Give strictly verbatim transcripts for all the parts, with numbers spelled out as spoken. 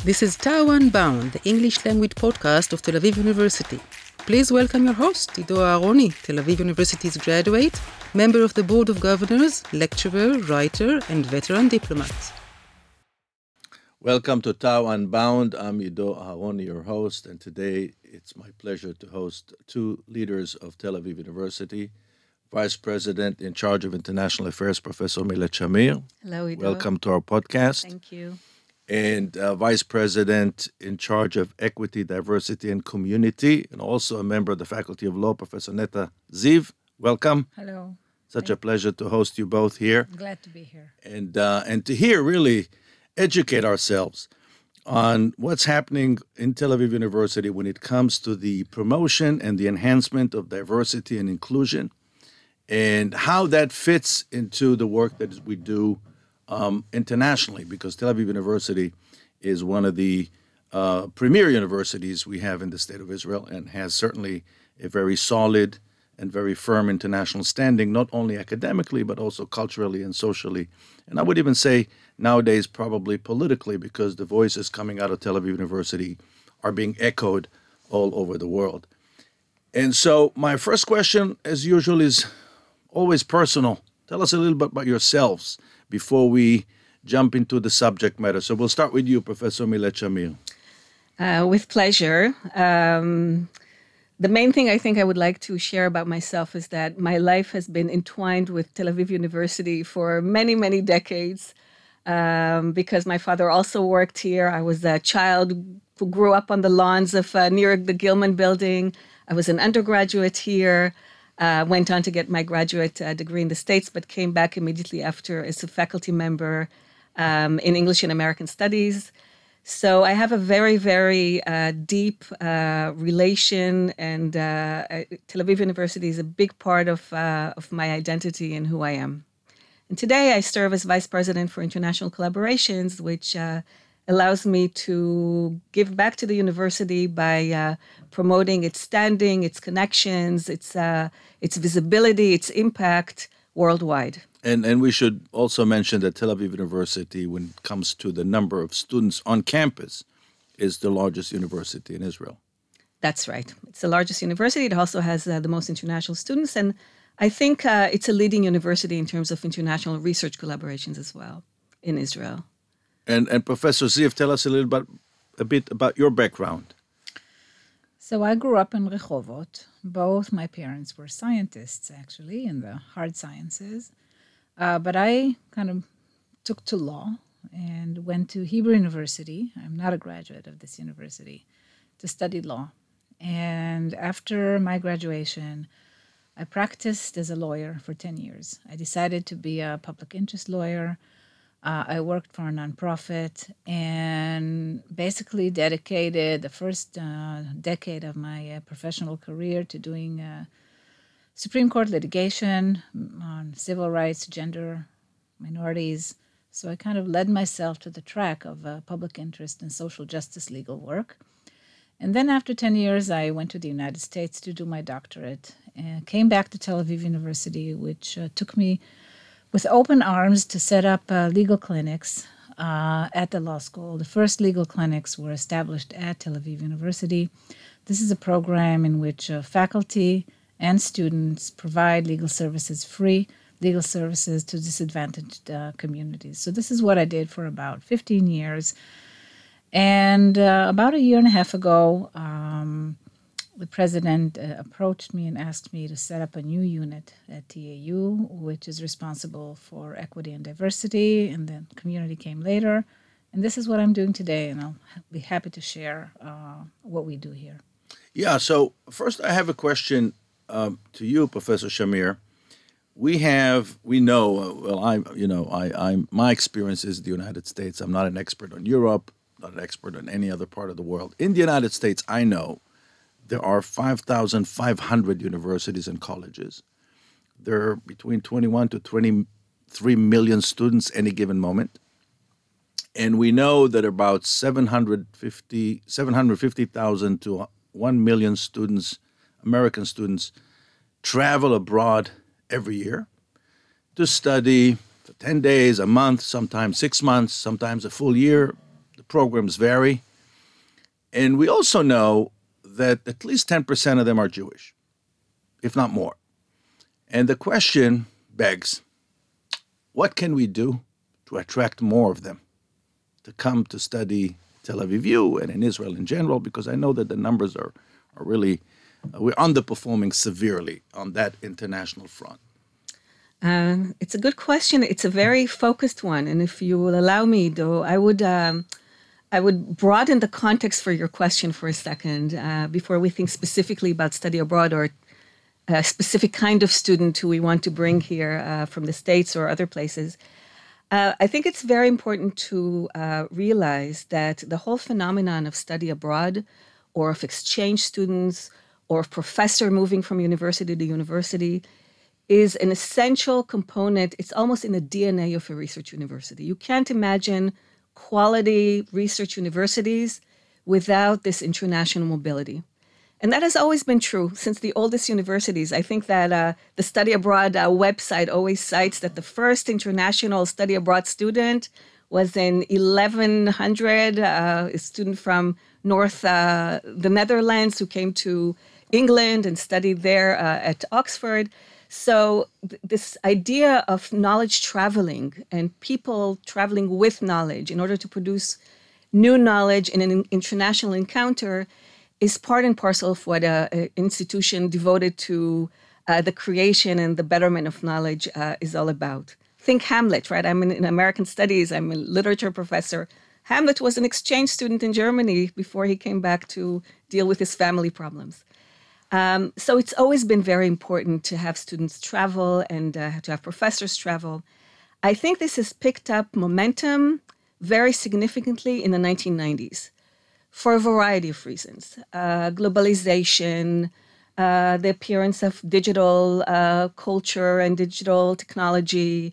This is Tao Unbound, the English language podcast of Tel Aviv University. Please welcome your host, Ido Aharoni, Tel Aviv University's graduate, member of the Board of Governors, lecturer, writer, and veteran diplomat. Welcome to Tao Unbound. I'm Ido Aharoni, your host, and today it's my pleasure to host two leaders of Tel Aviv University, Vice President in charge of International Affairs, Professor Milet Shamir. Hello, Ido. Welcome to our podcast. Thank you. And uh, Vice President in charge of Equity, Diversity, and Community, and also a member of the Faculty of Law, Professor Netta Ziv. Welcome. Hello. Such Thank a pleasure to host you both here. I'm glad to be here. And uh, and to hear, really, educate ourselves on what's happening in Tel Aviv University when it comes to the promotion and the enhancement of diversity and inclusion, and how that fits into the work that we do um, internationally, because Tel Aviv University is one of the uh, premier universities we have in the state of Israel and has certainly a very solid and very firm international standing, not only academically, but also culturally and socially. And I would even say nowadays probably politically, because the voices coming out of Tel Aviv University are being echoed all over the world. And so my first question, as usual, is always personal. Tell us a little bit about yourselves before we jump into the subject matter. So we'll start with you, Professor Milet Shamir. Uh, with pleasure. Um, the main thing I think I would like to share about myself is that my life has been entwined with Tel Aviv University for many, many decades. Um, because my father also worked here. I was a child who grew up on the lawns of uh, near the Gilman building. I was an undergraduate here. Uh, went on to get my graduate uh, degree in the States, but came back immediately after as a faculty member um, in English and American Studies. So I have a very, very uh, deep uh, relation, and uh, Tel Aviv University is a big part of uh, of my identity and who I am. And today I serve as Vice President for International Collaborations, which uh, allows me to give back to the university by uh, promoting its standing, its connections, its uh, its visibility, its impact worldwide. And and we should also mention that Tel Aviv University, when it comes to the number of students on campus, is the largest university in Israel. That's right. It's the largest university. It also has uh, the most international students, and I think uh, it's a leading university in terms of international research collaborations as well in Israel. And and Professor Ziv, tell us a little bit, a bit about your background. So I grew up in Rehovot. Both my parents were scientists, actually, in the hard sciences. Uh, but I kind of took to law and went to Hebrew University. I'm not a graduate of this university, to study law. And after my graduation, I practiced as a lawyer for ten years. I decided to be a public interest lawyer. Uh, I worked for a nonprofit and basically dedicated the first uh, decade of my uh, professional career to doing uh, Supreme Court litigation on civil rights, gender, minorities. So I kind of led myself to the track of uh, public interest and social justice legal work. And then after ten years, I went to the United States to do my doctorate and came back to Tel Aviv University, which uh, took me with open arms to set up uh, legal clinics uh, at the law school. The first legal clinics were established at Tel Aviv University. This is a program in which uh, faculty and students provide legal services, free legal services to disadvantaged uh, communities. So this is what I did for about fifteen years. And uh, about a year and a half ago, um, the president uh, approached me and asked me to set up a new unit at T A U, which is responsible for equity and diversity, and then community came later. And this is what I'm doing today, and I'll be happy to share uh, what we do here. Yeah, so first I have a question um, to you, Professor Shamir. We have, we know, uh, well, I, you know, I, I'm, my experience is the United States. I'm not an expert on Europe, not an expert on any other part of the world. In the United States, I know there are five thousand five hundred universities and colleges. There are between twenty-one to twenty-three million students any given moment. And we know that about seven hundred fifty thousand to one million students, American students, travel abroad every year to study for ten days, a month, sometimes six months, sometimes a full year, The programs vary. And we also know that at least ten percent of them are Jewish, if not more. And the question begs, what can we do to attract more of them to come to study Tel Aviv U and in Israel in general? Because I know that the numbers are, are really, uh, we're underperforming severely on that international front. Uh, it's a good question. It's a very focused one. And if you will allow me, though, I would um, I would broaden the context for your question for a second uh, before we think specifically about study abroad or a specific kind of student who we want to bring here uh, from the States or other places. Uh, I think it's very important to uh, realize that the whole phenomenon of study abroad or of exchange students or of professor moving from university to university is an essential component. It's almost in the D N A of a research university. You can't imagine quality research universities without this international mobility. And that has always been true since the oldest universities. I think that uh, the Study Abroad uh, website always cites that the first international study abroad student was in eleven hundred, uh, a student from North, uh, the Netherlands who came to England and studied there uh, at Oxford. So th- this idea of knowledge traveling and people traveling with knowledge in order to produce new knowledge in an international encounter is part and parcel of what an institution devoted to uh, the creation and the betterment of knowledge uh, is all about. Think Hamlet, right? I'm in, in American studies. I'm a literature professor. Hamlet was an exchange student in Germany before he came back to deal with his family problems. Um, so it's always been very important to have students travel and uh, to have professors travel. I think this has picked up momentum very significantly in the nineteen nineties for a variety of reasons. Uh, globalization, uh, the appearance of digital uh, culture and digital technology,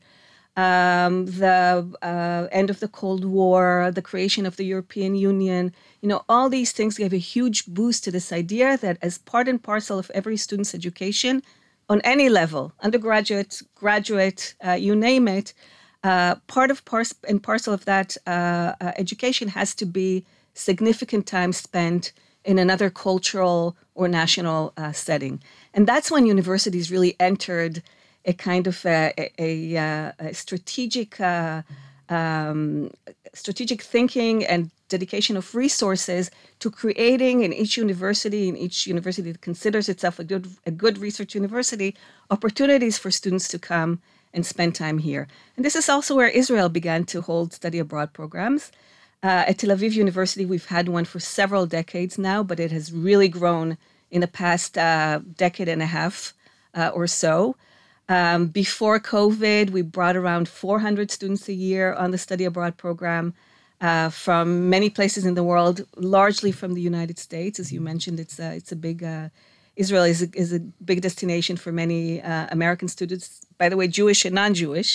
um, the uh, end of the Cold War, the creation of the European Union. You know, all these things gave a huge boost to this idea that as part and parcel of every student's education, on any level, undergraduate, graduate, uh, you name it, uh, part of par- and parcel of that uh, uh, education has to be significant time spent in another cultural or national uh, setting. And that's when universities really entered a kind of a, a, a, a strategic uh, um, strategic thinking and dedication of resources to creating in each university, in each university that considers itself a good, a good research university, opportunities for students to come and spend time here. And this is also where Israel began to hold study abroad programs. Uh, at Tel Aviv University, we've had one for several decades now, but it has really grown in the past uh, decade and a half uh, or so. Um, before COVID, we brought around four hundred students a year on the study abroad program uh, from many places in the world, largely from the United States. As you mentioned, it's a, it's a big, uh, Israel is a, is a big destination for many uh, American students, by the way, Jewish and non-Jewish.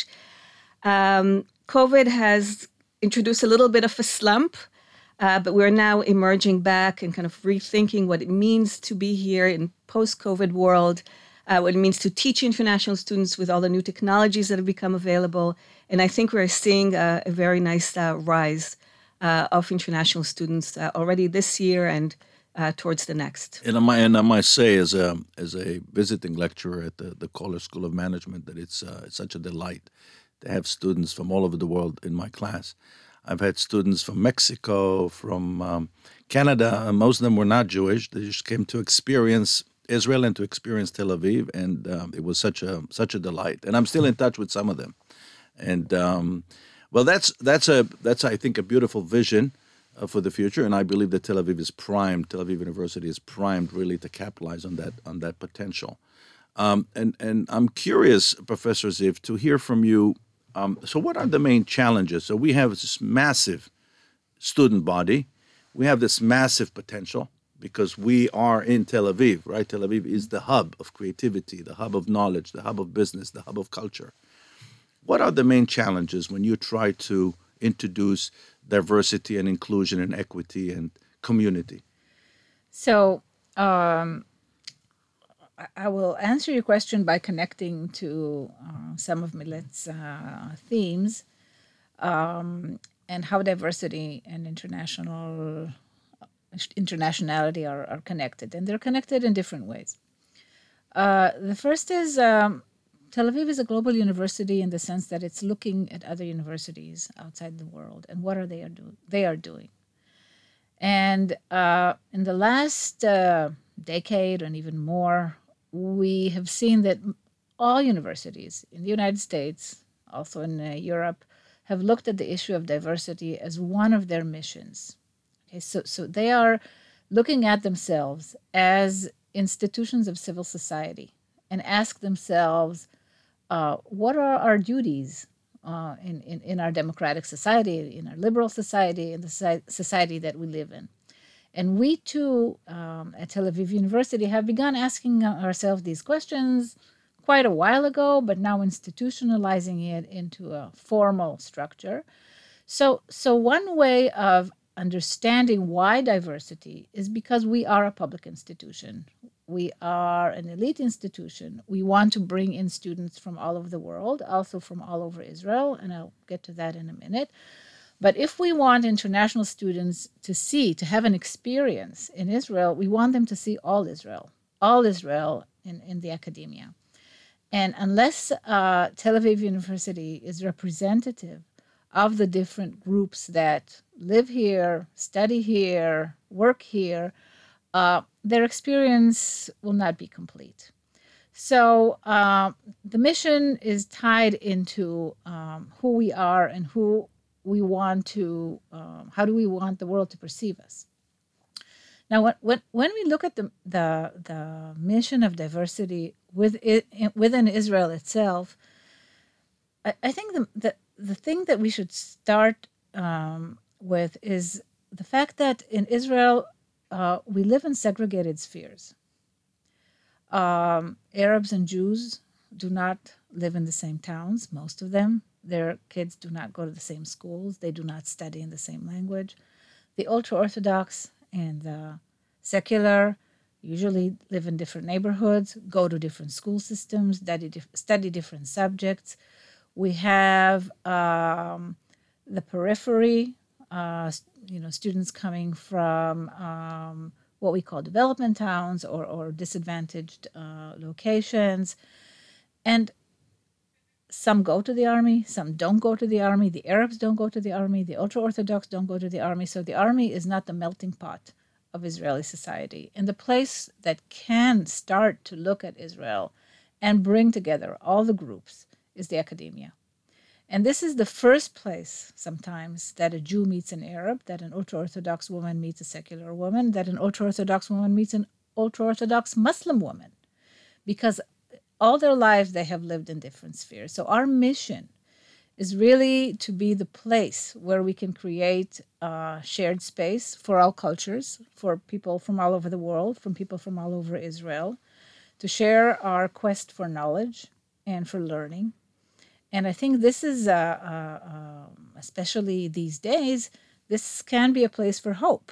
Um, COVID has introduced a little bit of a slump, uh, but we're now emerging back and kind of rethinking what it means to be here in post-COVID world, uh, what it means to teach international students with all the new technologies that have become available. And I think we're seeing a, a very nice uh, rise uh, of international students uh, already this year and uh, towards the next. And I might, and I might say, as a as a visiting lecturer at the, the Kohler School of Management, that it's uh, it's such a delight to have students from all over the world in my class. I've had students from Mexico, from um, Canada. Most of them were not Jewish. They just came to experience Israel and to experience Tel Aviv, and um, it was such a such a delight. And I'm still in touch with some of them. And um, well, that's that's a that's I think a beautiful vision uh, for the future. And I believe that Tel Aviv is primed. Tel Aviv University is primed really to capitalize on that on that potential. Um, and and I'm curious, Professor Ziv, to hear from you. Um, so what are the main challenges? So we have this massive student body. We have this massive potential because we are in Tel Aviv, right? Tel Aviv is the hub of creativity, the hub of knowledge, the hub of business, the hub of culture. What are the main challenges when you try to introduce diversity and inclusion and equity and community? So um, I will answer your question by connecting to uh, some of Milet's uh, themes. Um, and how diversity and international internationality are, are connected. And they're connected in different ways. Uh, the first is um, Tel Aviv is a global university in the sense that it's looking at other universities outside the world and what are they are do- they are doing. And uh, in the last uh, decade and even more, we have seen that all universities in the United States, also in uh, Europe, have looked at the issue of diversity as one of their missions. Okay, so, so they are looking at themselves as institutions of civil society and ask themselves, uh, what are our duties uh, in, in, in our democratic society, in our liberal society, in the society that we live in? And we too, um, at Tel Aviv University, have begun asking ourselves these questions quite a while ago, but now institutionalizing it into a formal structure. So, so one way of understanding why diversity is because we are a public institution. We are an elite institution. We want to bring in students from all over the world, also from all over Israel, and I'll get to that in a minute. But if we want international students to see, to have an experience in Israel, we want them to see all Israel, all Israel in, in the academia. And unless uh, Tel Aviv University is representative of the different groups that live here, study here, work here, uh, their experience will not be complete. So uh, the mission is tied into um, who we are and who we want to, um, how do we want the world to perceive us? Now, when, when, when we look at the, the, the mission of diversity with it, within Israel itself, I, I think the, the, the thing that we should start um, with is the fact that in Israel, uh, we live in segregated spheres. Um, Arabs and Jews do not live in the same towns, most of them. Their kids do not go to the same schools. They do not study in the same language. The ultra-Orthodox and the secular usually live in different neighborhoods, go to different school systems, study, study different subjects. We have um, the periphery, uh, you know, students coming from um, what we call development towns or, or disadvantaged uh, locations. And some go to the army, some don't go to the army. The Arabs don't go to the army. The ultra-Orthodox don't go to the army. So the army is not the melting pot of Israeli society. And the place that can start to look at Israel and bring together all the groups is the academia. And this is the first place sometimes that a Jew meets an Arab, that an ultra-Orthodox woman meets a secular woman, that an ultra-Orthodox woman meets an ultra-Orthodox Muslim woman. Because all their lives they have lived in different spheres. So our mission is really to be the place where we can create a shared space for all cultures, for people from all over the world, from people from all over Israel, to share our quest for knowledge and for learning. And I think this is, uh, uh, uh, especially these days, this can be a place for hope,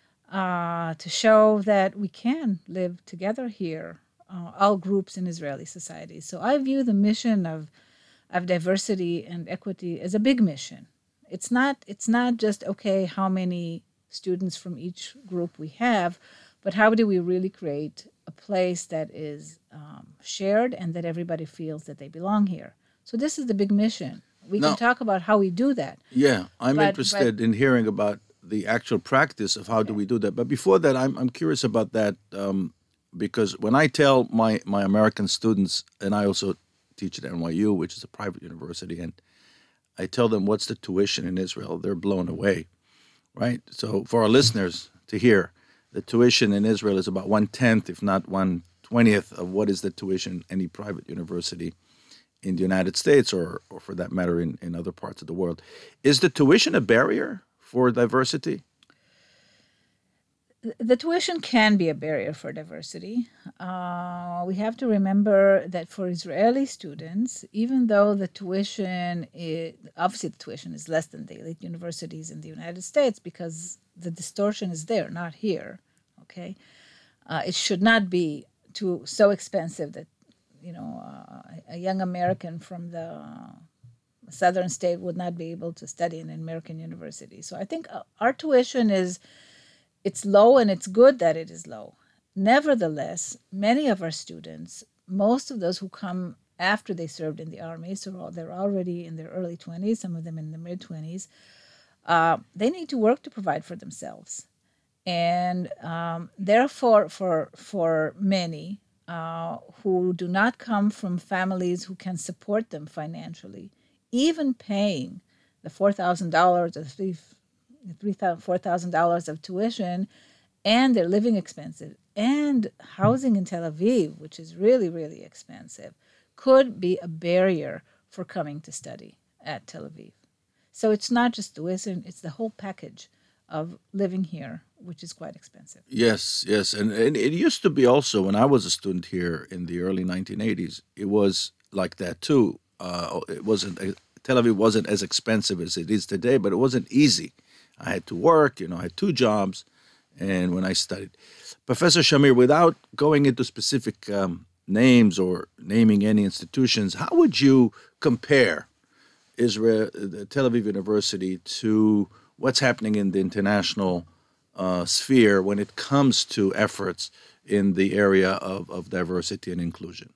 uh, to show that we can live together here, uh, all groups in Israeli society. So I view the mission of of diversity and equity as a big mission. It's not, it's not just, okay, how many students from each group we have, but how do we really create a place that is um, shared and that everybody feels that they belong here. So this is the big mission. We Now, can talk about how we do that. Yeah, I'm But- interested but- in hearing about the actual practice of how do we do that. But before that, I'm I'm curious about that um, because when I tell my my American students, and I also teach at N Y U, which is a private university, and I tell them what's the tuition in Israel, they're blown away, right? So for our listeners to hear, the tuition in Israel is about one tenth, if not one twentieth, of what is the tuition in any private university in the United States, or, or for that matter, in, in other parts of the world. Is the tuition a barrier for diversity? The tuition can be a barrier for diversity. Uh, we have to remember that for Israeli students, even though the tuition is, obviously the tuition is less than the elite universities in the United States because the distortion is there, not here, okay? Uh, it should not be too so expensive that, you know, uh, a young American from the a southern state would not be able to study in an American university. So I think our tuition is, it's low, and it's good that it is low. Nevertheless, many of our students, most of those who come after they served in the Army, so they're already in their early twenties, some of them in the mid-twenties, uh, they need to work to provide for themselves. And um, therefore, for, for many uh, who do not come from families who can support them financially, even paying the four thousand dollars or three, three thousand, four thousand dollars of tuition and their living expenses and housing in Tel Aviv, which is really, really expensive, could be a barrier for coming to study at Tel Aviv. So it's not just tuition, it's the whole package of living here, which is quite expensive. Yes, yes. And, and it used to be also, when I was a student here in the early nineteen eighties, it was like that too. Uh, it wasn't, Tel Aviv wasn't as expensive as it is today, but it wasn't easy. I had to work, you know, I had two jobs, and when I studied. Professor Shamir, without going into specific um, names or naming any institutions, how would you compare Israel, the Tel Aviv University, to what's happening in the international uh, sphere when it comes to efforts in the area of, of diversity and inclusion?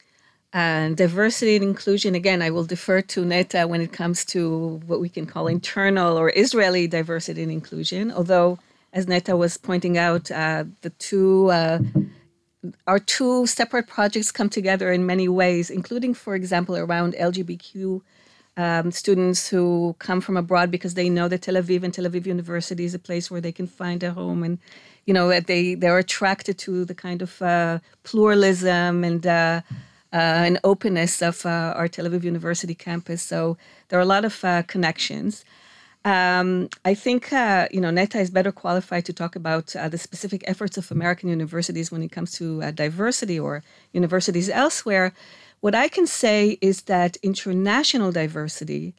And diversity and inclusion, again, I will defer to Neta when it comes to what we can call internal or Israeli diversity and inclusion. Although, as Neta was pointing out, uh, the two uh, our two separate projects come together in many ways, including, for example, around L G B T Q um, students who come from abroad because they know that Tel Aviv and Tel Aviv University is a place where they can find a home, and you know they they're attracted to the kind of uh, pluralism and uh, uh, and openness of uh, our Tel Aviv University campus. So there are a lot of uh, connections. Um, I think, uh, you know, Neta is better qualified to talk about uh, the specific efforts of American universities when it comes to uh, diversity or universities elsewhere. What I can say is that international diversity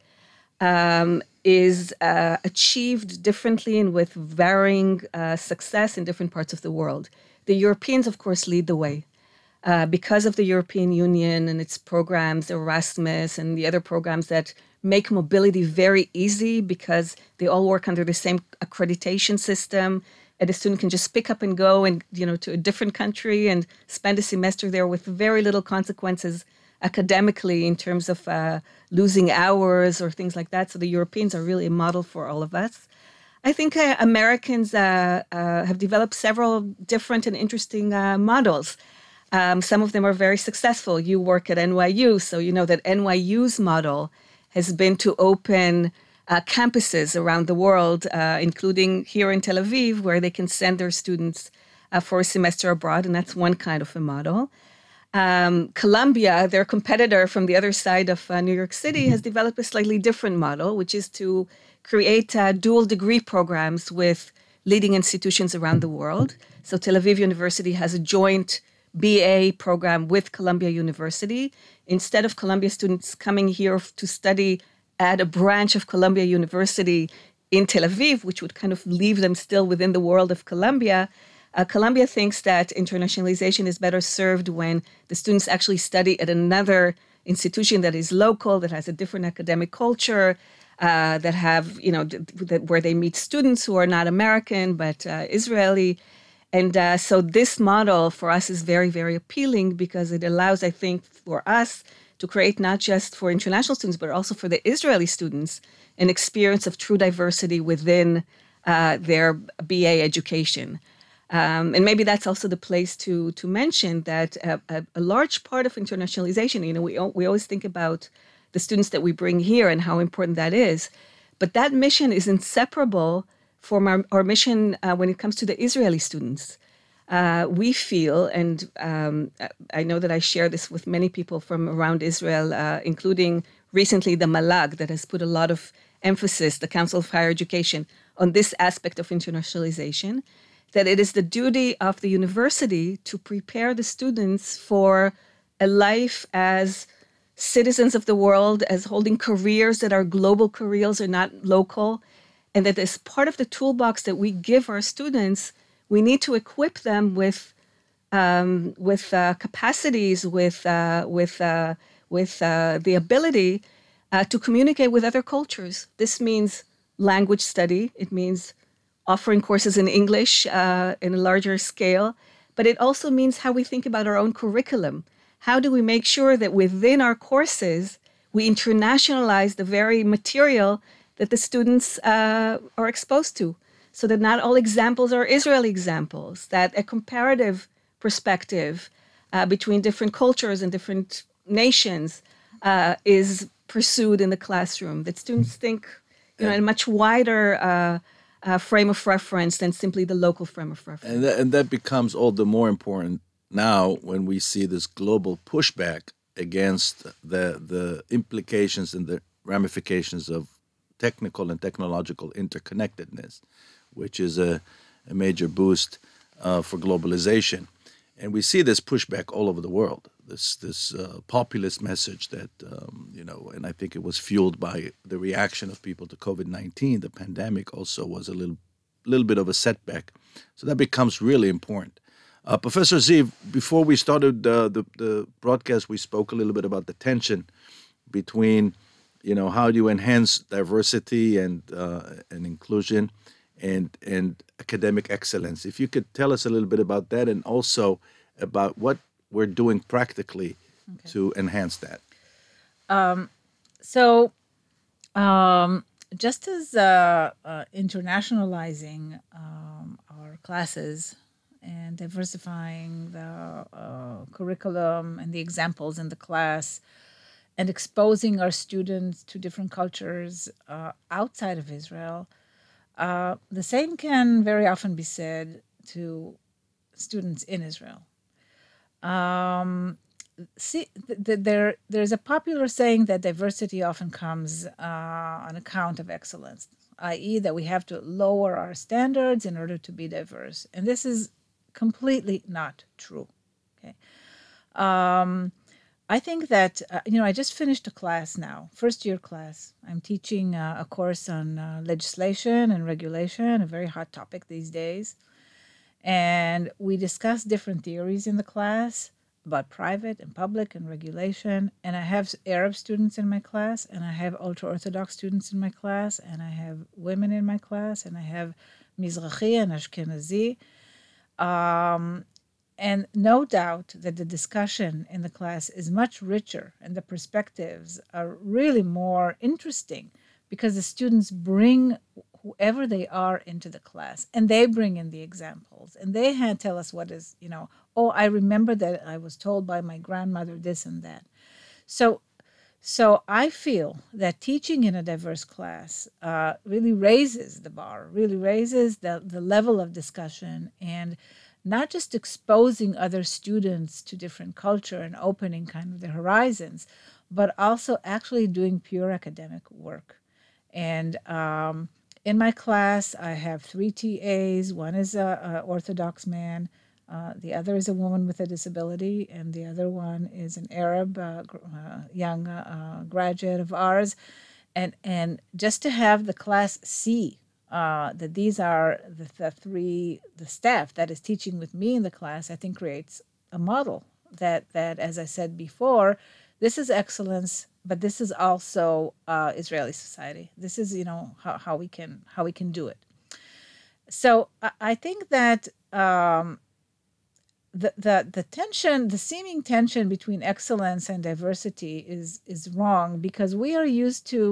um, is uh, achieved differently and with varying uh, success in different parts of the world. The Europeans, of course, lead the way. Uh, because of the European Union and its programs, Erasmus and the other programs that make mobility very easy because they all work under the same accreditation system, and a student can just pick up and go and you know to a different country and spend a semester there with very little consequences academically in terms of uh, losing hours or things like that. So the Europeans are really a model for all of us. I think uh, Americans uh, uh, have developed several different and interesting uh, models. Um, some of them are very successful. You work at N Y U, so you know that N Y U's model has been to open uh, campuses around the world, uh, including here in Tel Aviv, where they can send their students uh, for a semester abroad, and that's one kind of a model. Um, Columbia, their competitor from the other side of uh, New York City, has developed a slightly different model, which is to create uh, dual degree programs with leading institutions around the world. So Tel Aviv University has a joint B A program with Columbia University. Instead of Columbia students coming here to study at a branch of Columbia University in Tel Aviv, which would kind of leave them still within the world of Columbia, uh, Columbia thinks that internationalization is better served when the students actually study at another institution that is local, that has a different academic culture, uh, that have, you know, that where they meet students who are not American, but uh, Israeli. And uh, so this model for us is very, very appealing because it allows, I think, for us to create not just for international students, but also for the Israeli students, an experience of true diversity within uh, their B A education. Um, and maybe that's also the place to to mention that a, a, a large part of internationalization, you know, we, we always think about the students that we bring here and how important that is. But that mission is inseparable from our, our mission uh, when it comes to the Israeli students. Uh, we feel, and um, I know that I share this with many people from around Israel, uh, including recently the Malag, that has put a lot of emphasis, the Council of Higher Education, on this aspect of internationalization, that it is the duty of the university to prepare the students for a life as citizens of the world, as holding careers that are global careers or not local, and that as part of the toolbox that we give our students, we need to equip them with um, with uh, capacities, with uh, with uh, with uh, the ability uh, to communicate with other cultures. This means language study. It means offering courses in English uh, in a larger scale. But it also means how we think about our own curriculum. How do we make sure that within our courses, we internationalize the very material that the students uh, are exposed to, so that not all examples are Israeli examples, that a comparative perspective uh, between different cultures and different nations uh, is pursued in the classroom, that students think you know, in a much wider uh, uh, frame of reference than simply the local frame of reference. And that, and that becomes all the more important now when we see this global pushback against the the implications and the ramifications of technical and technological interconnectedness, which is a, a major boost uh, for globalization. And we see this pushback all over the world, this this uh, populist message that, um, you know, and I think it was fueled by the reaction of people to COVID nineteen. The pandemic also was a little, little bit of a setback. So that becomes really important. Uh, Professor Ziv, before we started uh, the, the broadcast, we spoke a little bit about the tension between, you know, how do you enhance diversity and uh, and inclusion and and academic excellence. If you could tell us a little bit about that, and also about what we're doing practically okay. to enhance that. Um, so, um, just as uh, uh, internationalizing um, our classes and diversifying the uh, curriculum and the examples in the class and exposing our students to different cultures uh, outside of Israel, uh, the same can very often be said to students in Israel. Um, see, th- th- there, there's a popular saying that diversity often comes uh, on account of excellence, that is that we have to lower our standards in order to be diverse. And this is completely not true. Okay. Um, I think that, uh, you know, I just finished a class now, first year class. I'm teaching uh, a course on uh, legislation and regulation, a very hot topic these days. And we discuss different theories in the class about private and public and regulation. And I have Arab students in my class, and I have ultra-Orthodox students in my class, and I have women in my class, and I have Mizrahi and Ashkenazi. Um, and no doubt that the discussion in the class is much richer and the perspectives are really more interesting because the students bring whoever they are into the class and they bring in the examples and they had tell us what is, you know, oh, I remember that I was told by my grandmother this and that. So So I feel that teaching in a diverse class uh, really raises the bar, really raises the, the level of discussion, and not just exposing other students to different culture and opening kind of their horizons, but also actually doing pure academic work. And um, in my class, I have three T As. One is a, a Orthodox man. Uh, the other is a woman with a disability, and the other one is an Arab uh, uh, young uh, graduate of ours. And and just to have the class see uh, that these are the, the three, the staff that is teaching with me in the class, I think creates a model that, that as I said before, this is excellence, but this is also uh, Israeli society. This is, you know, how, how we can how we can do it. So I, I think that um, The, the the tension, the seeming tension between excellence and diversity is is wrong because we are used to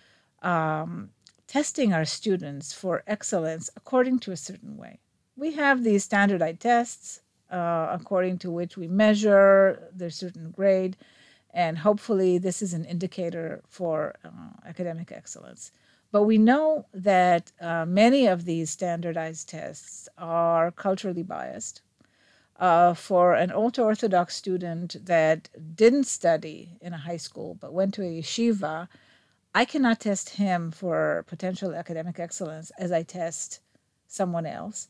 um, testing our students for excellence according to a certain way. We have these standardized tests uh, according to which we measure their certain grade, and hopefully this is an indicator for uh, academic excellence. But we know that uh, many of these standardized tests are culturally biased. Uh, for an ultra-Orthodox student that didn't study in a high school but went to a yeshiva, I cannot test him for potential academic excellence as I test someone else.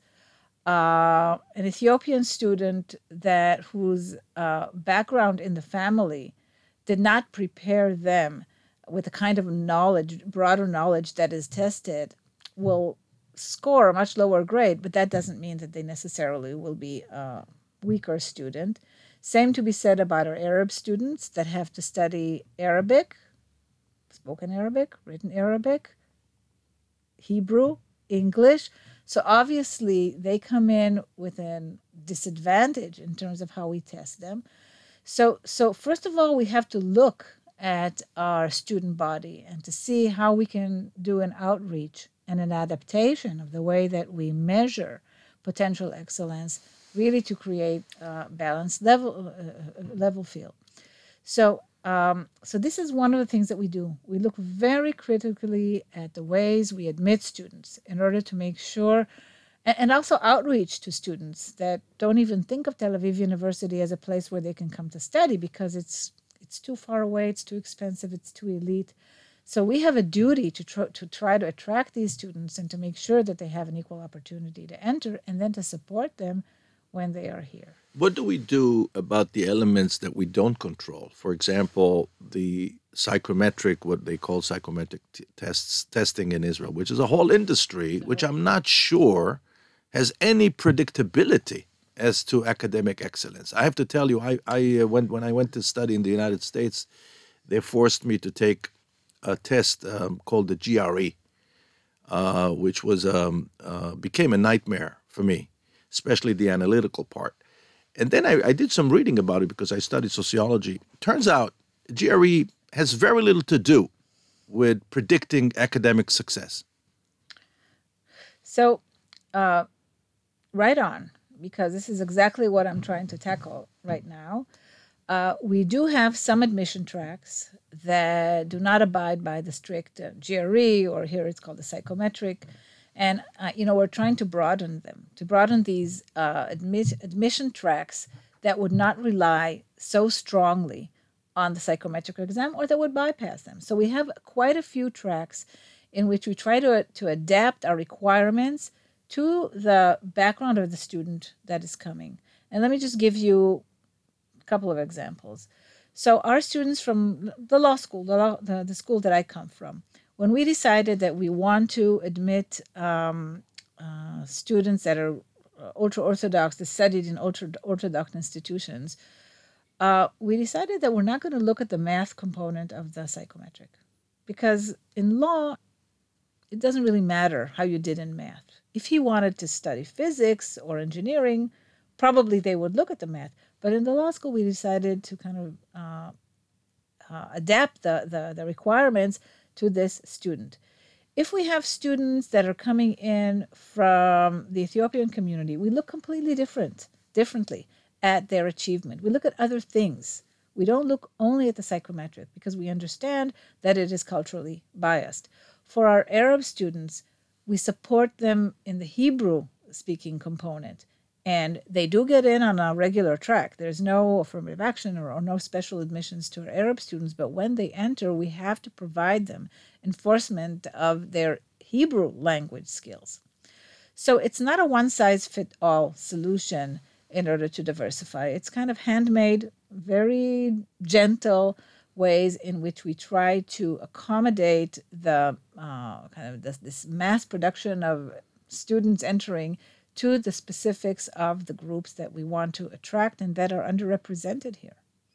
Uh, an Ethiopian student that whose uh, background in the family did not prepare them with the kind of knowledge, broader knowledge that is tested, will score a much lower grade, but that doesn't mean that they necessarily will be uh, weaker student. Same to be said about our Arab students that have to study Arabic, spoken Arabic, written Arabic, Hebrew, English. So obviously they come in with a disadvantage in terms of how we test them. So, so first of all, we have to look at our student body and to see how we can do an outreach and an adaptation of the way that we measure potential excellence, really to create a balanced level, uh, level field. So, um, so this is one of the things that we do. We look very critically at the ways we admit students in order to make sure, and, and also outreach to students that don't even think of Tel Aviv University as a place where they can come to study because it's it's too far away, it's too expensive, it's too elite. So we have a duty to try, to try to attract these students and to make sure that they have an equal opportunity to enter and then to support them when they are here. What do we do about the elements that we don't control? For example, the psychometric, what they call psychometric t- tests, testing in Israel, which is a whole industry, which I'm not sure has any predictability as to academic excellence. I have to tell you, I, I uh, went, when I went to study in the United States, they forced me to take a test um, called the G R E, uh, which was um, uh, became a nightmare for me, especially the analytical part. And then I, I did some reading about it because I studied sociology. Turns out G R E has very little to do with predicting academic success. So, uh, right on, because this is exactly what I'm trying to tackle right now. Uh, we do have some admission tracks that do not abide by the strict uh, G R E, or here it's called the psychometric. And, uh, you know, we're trying to broaden them, to broaden these uh, admit, admission tracks that would not rely so strongly on the psychometric exam or that would bypass them. So we have quite a few tracks in which we try to, to adapt our requirements to the background of the student that is coming. And let me just give you a couple of examples. So our students from the law school, the, law, the, the school that I come from, when we decided that we want to admit um, uh, students that are ultra-Orthodox, that studied in ultra-Orthodox institutions, uh, we decided that we're not going to look at the math component of the psychometric. Because in law, it doesn't really matter how you did in math. If he wanted to study physics or engineering, probably they would look at the math. But in the law school, we decided to kind of uh, uh, adapt the, the, the requirements to this student. If we have students that are coming in from the Ethiopian community, we look completely different, differently at their achievement. We look at other things. We don't look only at the psychometric because we understand that it is culturally biased. For our Arab students, we support them in the Hebrew-speaking component, and they do get in on a regular track. There's no affirmative action or, or no special admissions to our Arab students, but when they enter, we have to provide them enforcement of their Hebrew language skills. So it's not a one-size-fits-all solution in order to diversify. It's kind of handmade, very gentle ways in which we try to accommodate the uh, kind of this, this mass production of students entering to the specifics of the groups that we want to attract and that are underrepresented here.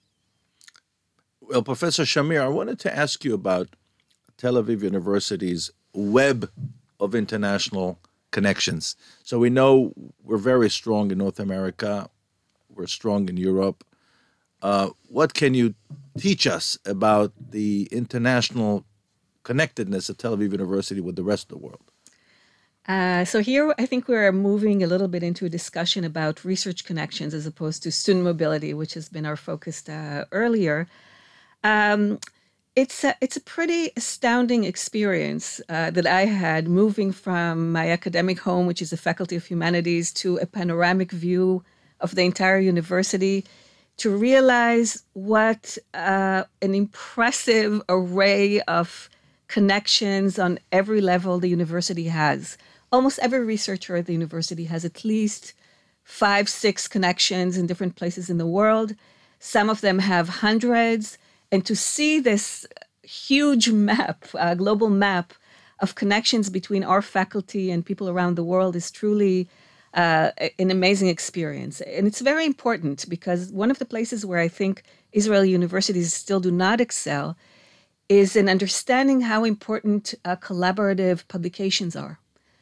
Well, Professor Shamir, I wanted to ask you about Tel Aviv University's web of international connections. So we know we're very strong in North America, we're strong in Europe. Uh, what can you teach us about the international connectedness of Tel Aviv University with the rest of the world? Uh, so here, I think we're moving a little bit into a discussion about research connections as opposed to student mobility, which has been our focus uh, earlier. Um, it's a, it's a pretty astounding experience uh, that I had moving from my academic home, which is the Faculty of Humanities, to a panoramic view of the entire university, to realize what uh, an impressive array of connections on every level the university has. Almost every researcher at the university has at least five, six connections in different places in the world. Some of them have hundreds. And to see this huge map, uh, global map of connections between our faculty and people around the world is truly uh, an amazing experience. And it's very important because one of the places where I think Israeli universities still do not excel is in understanding how important uh, collaborative publications are.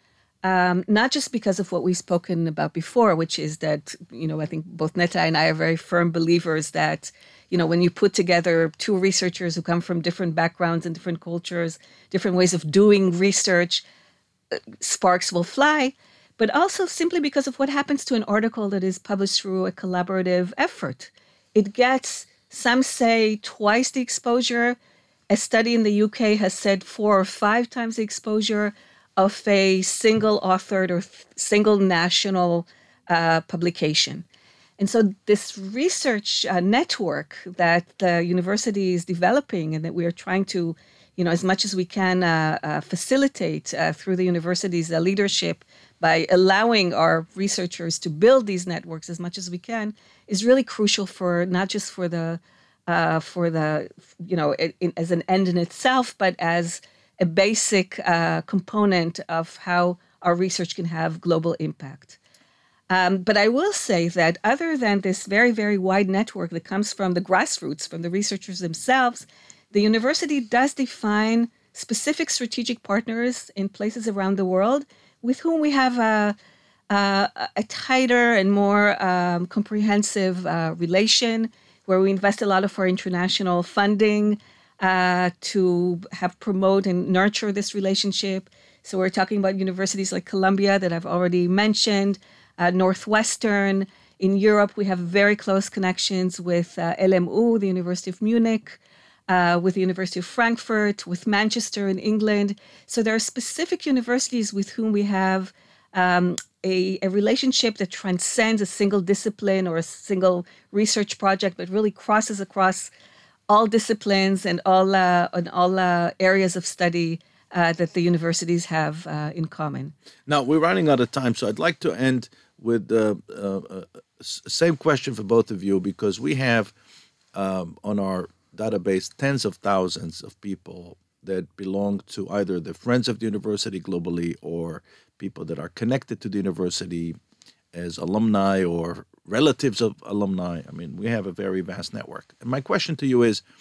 Um, not just because of what we've spoken about before, which is that, you know, I think both Netta and I are very firm believers that, you know, when you put together two researchers who come from different backgrounds and different cultures, different ways of doing research, uh, sparks will fly, but also simply because of what happens to an article that is published through a collaborative effort. It gets, some say, twice the exposure. A study in the U K has said four or five times the exposure of a single authored or single national uh, publication. And so this research uh, network that the university is developing and that we are trying to, you know, as much as we can uh, uh, facilitate uh, through the university's uh, leadership by allowing our researchers to build these networks as much as we can, is really crucial for not just for the, uh, for the, you know, it, it, as an end in itself, but as a basic uh, component of how our research can have global impact. Um, but I will say that other than this very, very wide network that comes from the grassroots, from the researchers themselves, the university does define specific strategic partners in places around the world with whom we have a, a, a tighter and more um, comprehensive uh, relation, where we invest a lot of our international funding Uh, to have promote and nurture this relationship. So we're talking about universities like Columbia that I've already mentioned, uh, Northwestern. In Europe, we have very close connections with uh, L M U, the University of Munich, uh, with the University of Frankfurt, with Manchester in England. So there are specific universities with whom we have um, a, a relationship that transcends a single discipline or a single research project, but really crosses across all disciplines and all uh, and all uh, areas of study uh, that the universities have uh, in common. Now, we're running out of time, so I'd like to end with the uh, uh, same question for both of you, because we have um, on our database tens of thousands of people that belong to either the Friends of the University globally or people that are connected to the university as alumni or relatives of alumni. I mean, we have a very vast network. And my question to you is,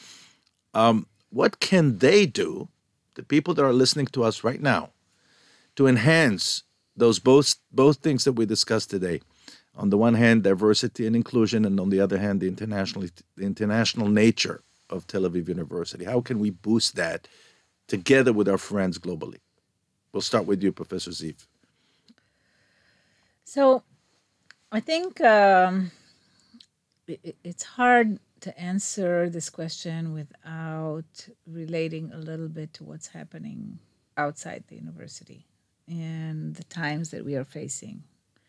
um, what can they do, the people that are listening to us right now, to enhance those both both things that we discussed today? On the one hand, diversity and inclusion, and on the other hand, the international the international nature of Tel Aviv University. How can we boost that together with our friends globally? We'll start with you, Professor Ziv. So I think um, it, it's hard to answer this question without relating a little bit to what's happening outside the university and the times that we are facing.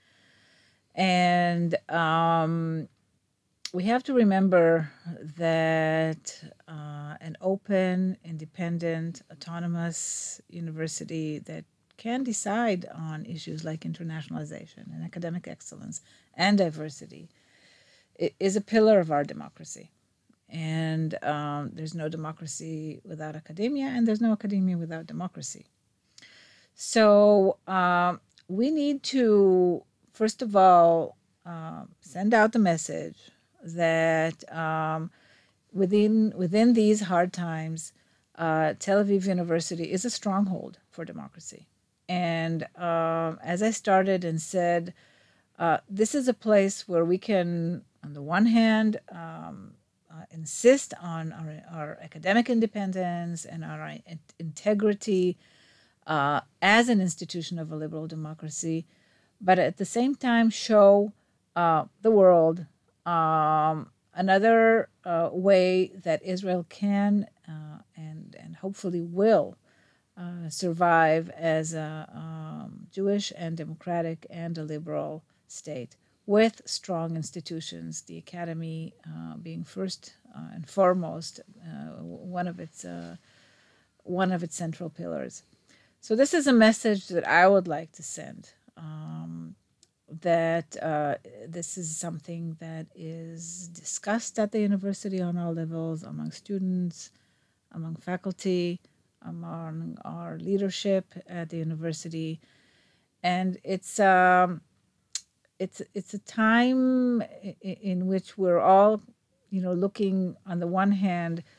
And um, we have to remember that uh, an open, independent, autonomous university that can decide on issues like internationalization and academic excellence and diversity is a pillar of our democracy. And um, there's no democracy without academia, and there's no academia without democracy. So um, we need to, first of all, uh, send out the message that um, within within these hard times, uh, Tel Aviv University is a stronghold for democracy. And um, as I started and said, uh, this is a place where we can, on the one hand, um, uh, insist on our, our academic independence and our in- integrity uh, as an institution of a liberal democracy, but at the same time show uh, the world um, another uh, way that Israel can uh, and, and hopefully will uh, survive as a um, Jewish and democratic and a liberal state with strong institutions, the academy uh, being first uh, and foremost uh, one of its uh, one of its central pillars. So this is a message that I would like to send. Um, that uh, this is something that is discussed at the university on all levels, among students, among faculty, among our leadership at the university. And it's um, it's it's a time in which we're all, you know, looking on the one hand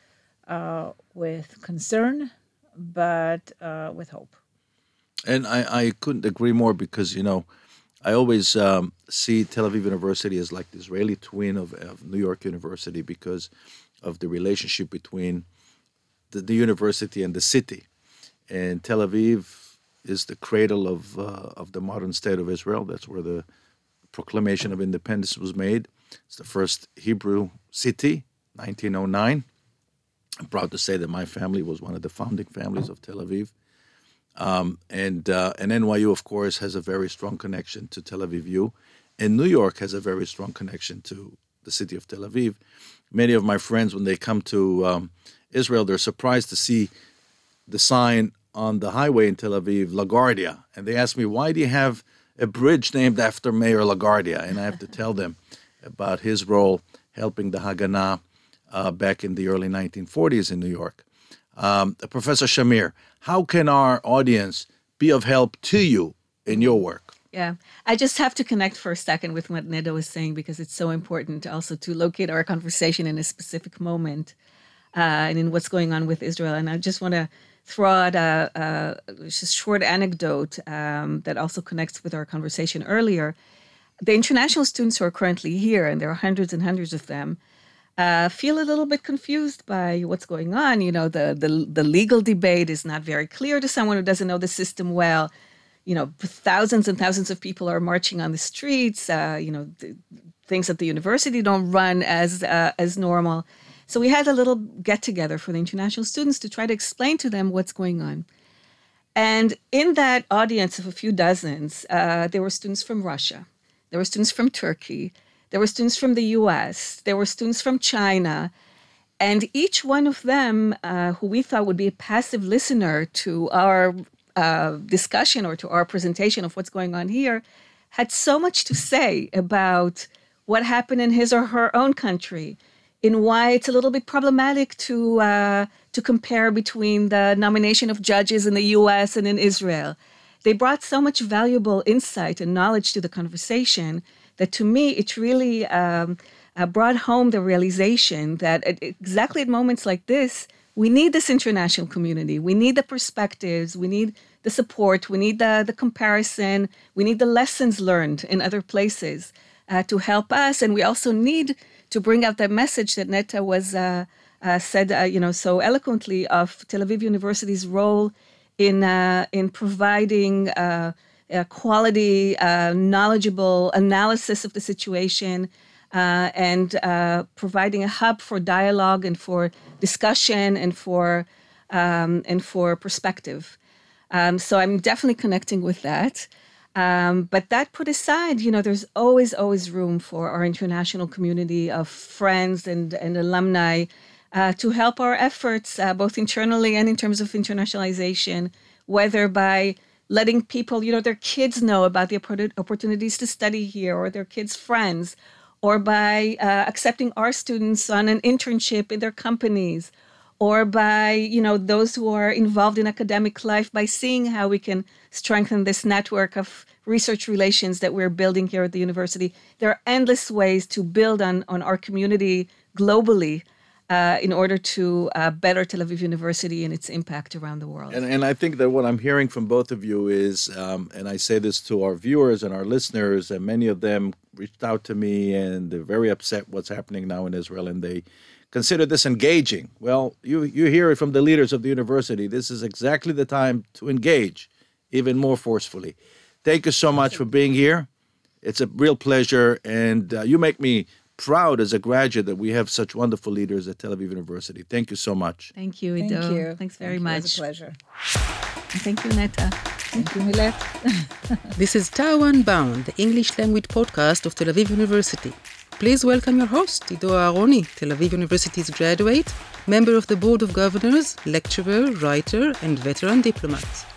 uh, with concern, but uh, with hope. And I, I couldn't agree more because, you know, I always um, see Tel Aviv University as like the Israeli twin of, of New York University because of the relationship between the, the university and the city. And Tel Aviv is the cradle of uh, of the modern state of Israel. That's where the Proclamation of Independence was made. It's the first Hebrew city, nineteen oh nine. I'm proud to say that my family was one of the founding families of Tel Aviv. Um, and uh, and N Y U, of course, has a very strong connection to Tel Aviv U. And New York has a very strong connection to the city of Tel Aviv. Many of my friends, when they come to um, Israel, they're surprised to see the sign on the highway in Tel Aviv, LaGuardia. And they ask me, why do you have a bridge named after Mayor LaGuardia? And I have to tell them about his role helping the Haganah uh, back in the early nineteen forties in New York. Um, Professor Shamir, how can our audience be of help to you in your work? Yeah, I just have to connect for a second with what Neda was saying because it's so important also to locate our conversation in a specific moment uh, and in what's going on with Israel. And I just want to throw out a, a just short anecdote um, that also connects with our conversation earlier. The international students who are currently here, and there are hundreds and hundreds of them, Uh, feel a little bit confused by what's going on. You know, the, the the legal debate is not very clear to someone who doesn't know the system well. You know, thousands and thousands of people are marching on the streets. Uh, you know, the, things at the university don't run as uh, as normal. So we had a little get together for the international students to try to explain to them what's going on. And in that audience of a few dozens, uh, there were students from Russia, there were students from Turkey. There were students from the U S, there were students from China, and each one of them, uh, who we thought would be a passive listener to our uh, discussion or to our presentation of what's going on here, had so much to say about what happened in his or her own country, in why it's a little bit problematic to uh, to compare between the nomination of judges in the U S and in Israel. They brought so much valuable insight and knowledge to the conversation that to me, it really um, uh, brought home the realization that at, exactly at moments like this, we need this international community. We need the perspectives. We need the support. We need the, the comparison. We need the lessons learned in other places uh, to help us. And we also need to bring out that message that Neta was uh, uh, said, uh, you know, so eloquently of Tel Aviv University's role in uh, in providing Uh, Uh, quality, uh, knowledgeable analysis of the situation, uh, and uh, providing a hub for dialogue and for discussion and for um, and for perspective. Um, so I'm definitely connecting with that. Um, but that put aside, you know, there's always, always room for our international community of friends and, and alumni uh, to help our efforts, uh, both internally and in terms of internationalization, whether by letting people, you know, their kids know about the opportunities to study here or their kids' friends, or by uh, accepting our students on an internship in their companies, or by, you know, those who are involved in academic life by seeing how we can strengthen this network of research relations that we're building here at the university. There are endless ways to build on, on our community globally Uh, in order to uh, better Tel Aviv University and its impact around the world. And, and I think that what I'm hearing from both of you is, um, and I say this to our viewers and our listeners, and many of them reached out to me and they're very upset what's happening now in Israel, and they consider this engaging. Well, you, you hear it from the leaders of the university. This is exactly the time to engage even more forcefully. Thank you so much for being here. It's a real pleasure, and uh, you make me proud as a graduate that we have such wonderful leaders at Tel Aviv University. Thank you so much. Thank you, Ido. Thank you. Thanks very Thank you. much. It was a pleasure. And thank you, Neta. Thank you, Milet. This is Tawan Bound, the English language podcast of Tel Aviv University. Please welcome your host, Ido Aharoni, Tel Aviv University's graduate, member of the Board of Governors, lecturer, writer, and veteran diplomat.